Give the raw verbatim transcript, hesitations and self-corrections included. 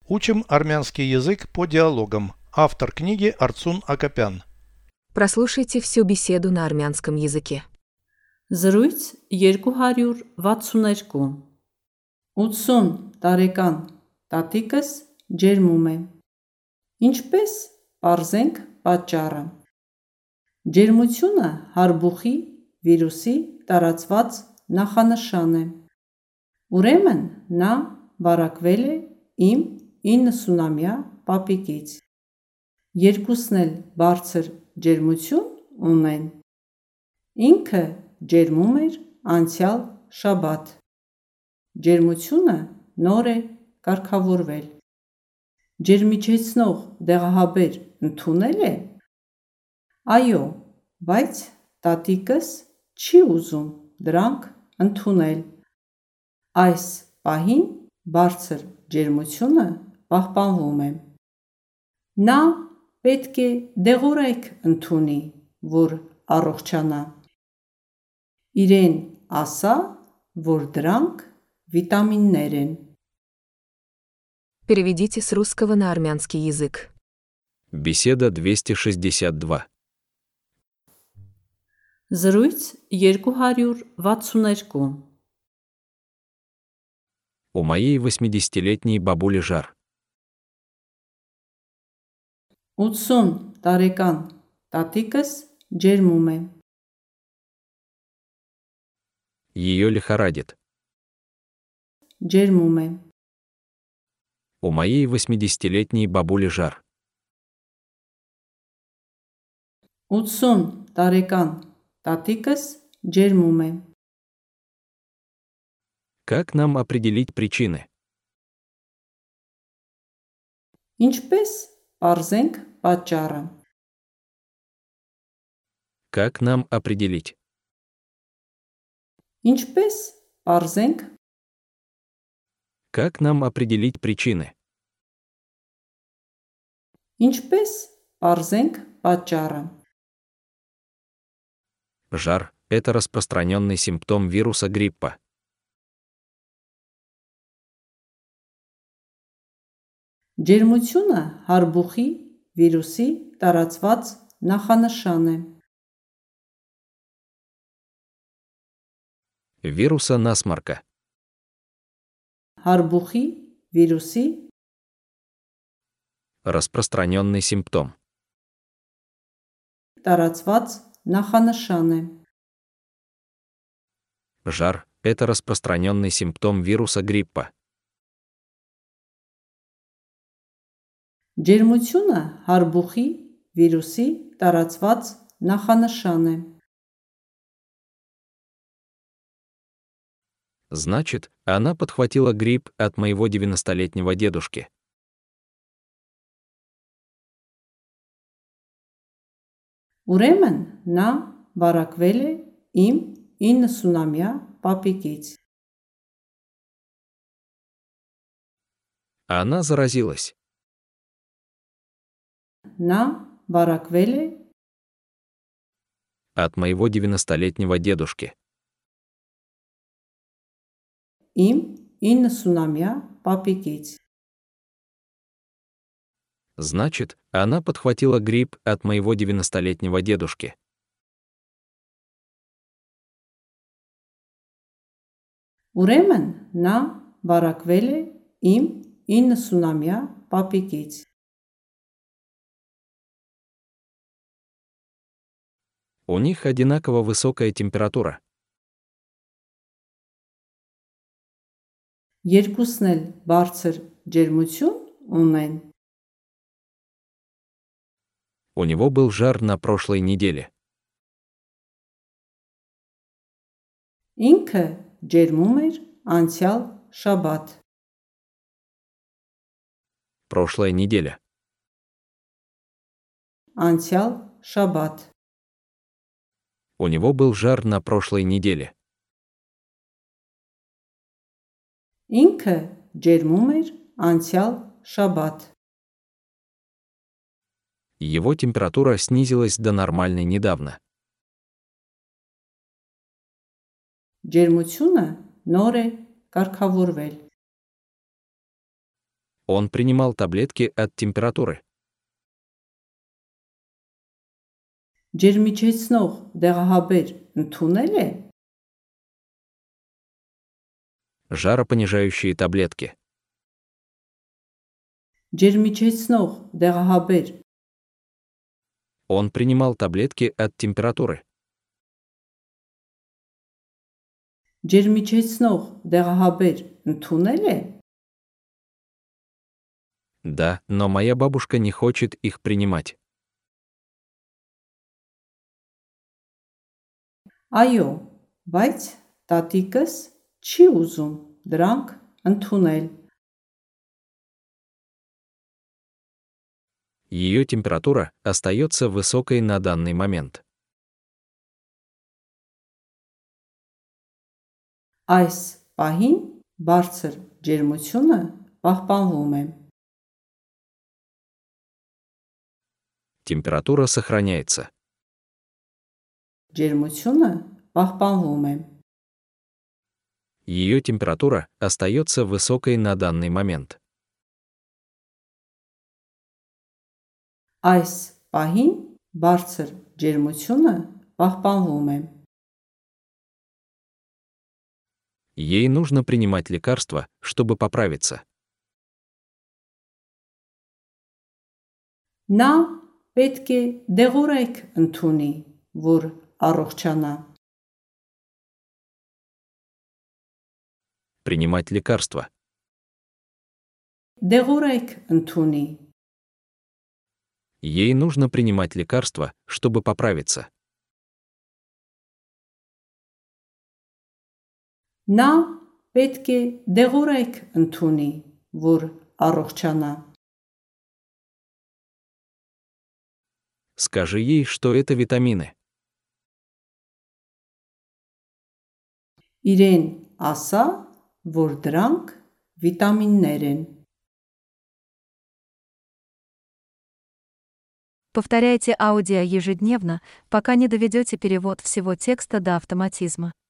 Учим армянский язык по диалогам. Автор книги Арцун Акопян. Прослушайте всю беседу на армянском языке. Զրույց երկու հարյուր վաթսուներկու ութսուն տարեկան տատիկս ջերմում է։ Ինչպես պարզենք պատճառը։ Ջերմությունը հարբուխի վիրուսի տարածված նախանշան է։ Ուրեմն նա վարակվել է իմ իննսունամյա պապիկից։ Երկուսն էլ բարձր ջերմություն ունեն։ Ինքը ջերմում էր անցյալ շաբաթ։ Ջերմությունը նոր է կարգավորվել։ Ջերմիջեցնող դեղահաբեր ընդունել է։ Այո, բայց տատիկս չի ուզում դրանք ընդունել։ Այս պահին բարձր ջերմությունը պահպանվում է։ Նա պետք է դեղորայք ընդունի, որ առողջանա։ Իրեն ասա, որ դրանք վիտամիններ են։ Переведите с русского на армянский язык. Беседа двести шестьдесят два. Զրույց երկու հարյուր վաթսուներկու У моей восьмидесятилетней бабули жар. ութսուն տարեկան տատիկս ջերմում է։ Ее лихорадит. Ջերմում է։ У моей восьмидесятилетней бабули жар. ութսուն տարեկան տատիկս ջերմում է։ Как нам определить причины? Ինչպես պարզենք պատճառը։ Как нам определить? Ինչպես պարզենք Как нам определить причины? Ինչպես պարզենք պատճառը։ Жар – это распространенный симптом вируса гриппа. Ջերմությունը հարբուխի վիրուսի տարածված նախանշան է։ Вируса насморка. Հարբուխի վիրուսի Распространенный симптом. տարածված նախանշան է։ Жар – это распространенный симптом вируса гриппа. Ջերմությունը հարբուխի վիրուսի տարածված նախանշան է։ Значит, она подхватила грипп от моего девяностолетнего дедушки. Ուրեմն նա վարակվել է իմ իննսունամյա պապիկից։ Она заразилась. Նա վարակվել է От моего девяностолетнего дедушки. իմ իննսունամյա պապիկից։ Значит, она подхватила грипп от моего девяностолетнего дедушки. Ուրեմն նա վարակվել է իմ իննսունամյա պապիկից։ У них одинаково высокая температура. Երկուսն էլ բարձր ջերմություն ունեն։ У него был жар на прошлой неделе. Ինքը ջերմում էր անցյալ շաբաթ։ Прошлая неделя. Անցյալ շաբաթ։ У него был жар на прошлой неделе. Ինքը ջերմում էր անցյալ շաբաթ։ Его температура снизилась до нормальной недавно. Ջերմությունը նոր է կարգավորվել։ Он принимал таблетки от температуры. Ջերմիջեցնող դեղահաբեր ընդունել է։ Жаропонижающие таблетки. Ջերմիջեցնող դեղահաբեր Он принимал таблетки от температуры. Ջերմիջեցնող դեղահաբեր ընդունել է։ Да, но моя бабушка не хочет их принимать. Այո, բայց տատիկս չի ուզում դրանք ընդունել։ Ее температура остается высокой на данный момент. Այս պահին բարձր ջերմությունը պահպանվում է։ Температура сохраняется. Ջերմությունը պահպանվում է։ Ее температура остается высокой на данный момент. Այս պահին բարձր ջերմությունը պահպանվում է։ Ей нужно принимать лекарства, чтобы поправиться. Նա պետք է դեղորայք ընդունի, որ առողջանա։ Принимать лекарства. Դեղորայք ընդունի։ Ей нужно принимать лекарства, чтобы поправиться. Նա պետք է դեղորայք ընդունի, որ առողջանա։ Скажи ей, что это витамины. Իրեն ասա, որ դրանք վիտամիններ են։ Повторяйте аудио ежедневно, пока не доведете перевод всего текста до автоматизма.